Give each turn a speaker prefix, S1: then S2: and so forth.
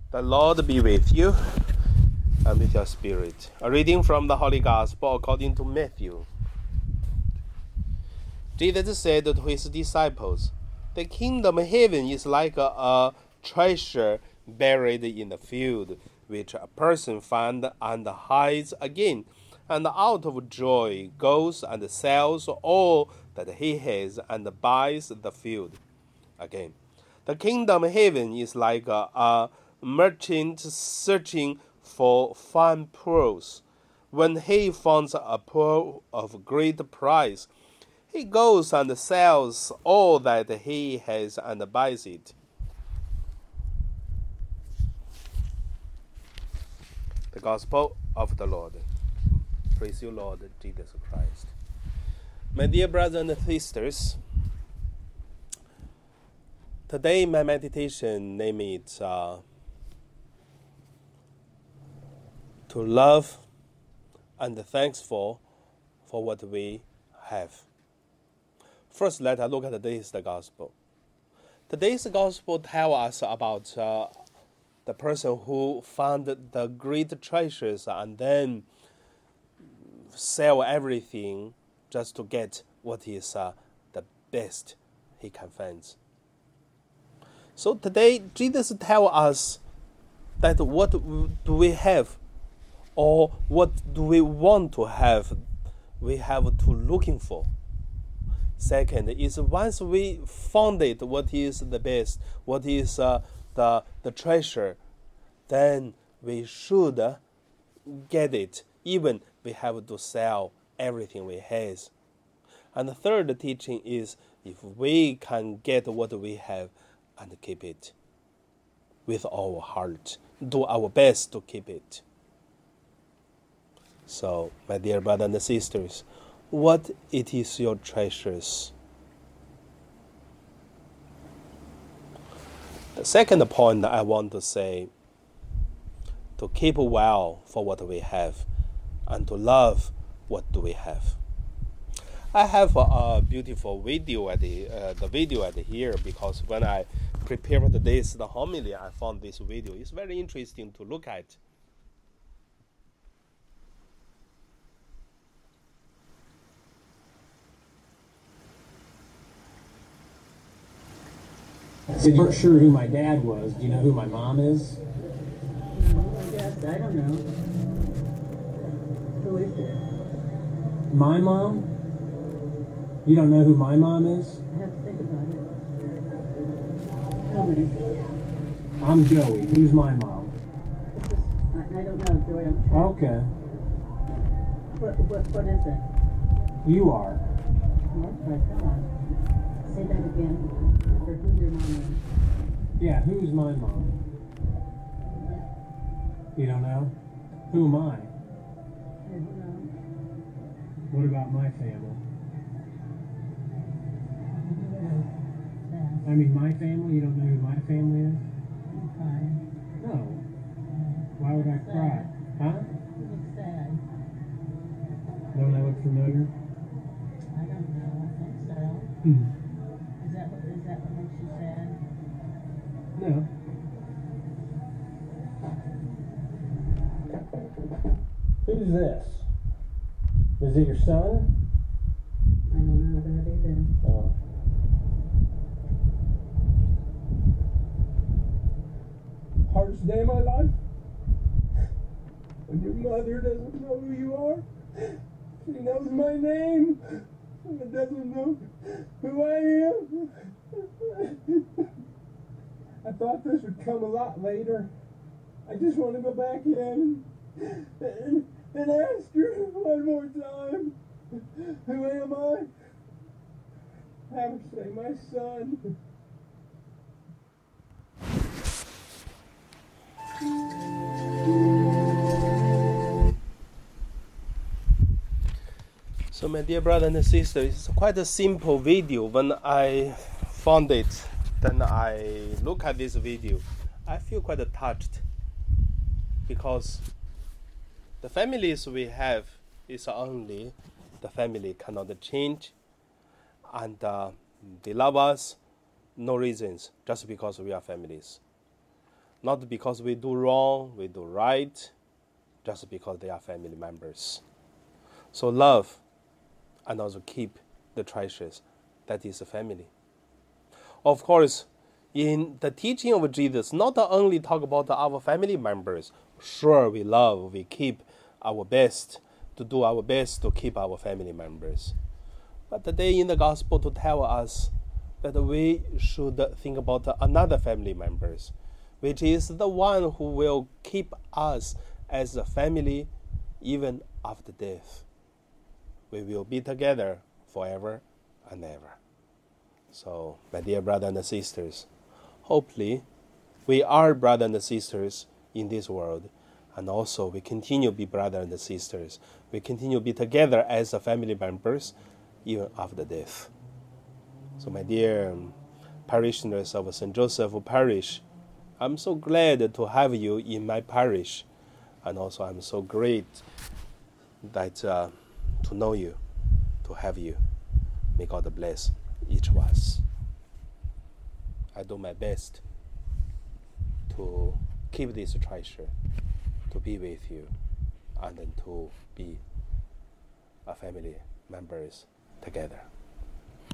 S1: The Lord be with you and with your spirit. A reading from the Holy Gospel according to Matthew. Jesus said to his disciples, "The kingdom of heaven is like a treasure buried in the field, which a person finds and hides again, and out of joy goes and sells all that he has and buys the field again. The kingdom of heaven is like a merchant searching for fine pearls. When he finds a pearl of great price, he goes and sells all that he has and buys it." The Gospel of the Lord. Praise you, Lord Jesus Christ. My dear brothers and sisters, today my meditation name is to love and thankful for what we have. First, let us look at today's Gospel. Today's Gospel tells us about the person who found the great treasures and then sell everything just to get what is the best he can find. So today, Jesus tells us that what do we have or what do we want to have, we have to looking for. Second is once we found it, what is the best, what is the treasure, then we should get it, even we have to sell everything we have. And the third teaching is if we can get what we have and keep it with our heart, do our best to keep it. So, my dear brothers and sisters, what it is your treasures? The second point I want to say, to keep well for what we have and to love what do we have. I have a beautiful video at the video at here because when I prepared the homily, I found this video. It's very interesting to look at.
S2: So you weren't sure who my dad was. Do you know who my mom is?
S3: I don't know. Who is it?
S2: My mom? You don't know who my mom is?
S3: I have to think about it. Tell me.
S2: I'm Joey. Who's my mom?
S3: I don't know, Joey. I'm sure.
S2: Okay.
S3: What is it?
S2: You are.
S3: Okay, come on. Say that again. Or who your mom is.
S2: Yeah, who's my mom? You don't know? Who am I?
S3: I don't know.
S2: What about my family? I mean, my family? You don't know who my family is?
S3: I'm crying.
S2: No. Why would I cry? Huh?
S3: You look sad.
S2: Don't I look familiar?
S3: I don't know. I think so. Is that what makes you sad?
S2: No. Who's this? Is it your son?
S3: I don't know that either.
S2: Oh. Hardest day of my life? When your mother doesn't know who you are? She knows my name, but doesn't know who I am. I thought this would come a lot later. I just want to go back in and ask her one more time, who am I? Have her say, my son.
S1: So my dear brother and sister, it's quite a simple video. When I found it, then I look at this video, I feel quite touched because the families we have is only the family cannot change, and they love us, no reasons, just because we are families. Not because we do wrong, we do right, just because they are family members. So love and also keep the treasures that is a family. Of course, in the teaching of Jesus, not only talk about our family members. Sure, we love, we keep our best, to do our best to keep our family members. But today in the gospel to tell us that we should think about another family members, which is the one who will keep us as a family even after death. We will be together forever and ever. So, my dear brothers and sisters, hopefully we are brothers and sisters in this world, and also we continue to be brothers and sisters. We continue to be together as a family members even after death. So, my dear parishioners of St. Joseph Parish, I'm so glad to have you in my parish, and also I'm so great that to know you, to have you. May God bless each of us. I do my best to keep this treasure, to be with you, and then to be a family members together.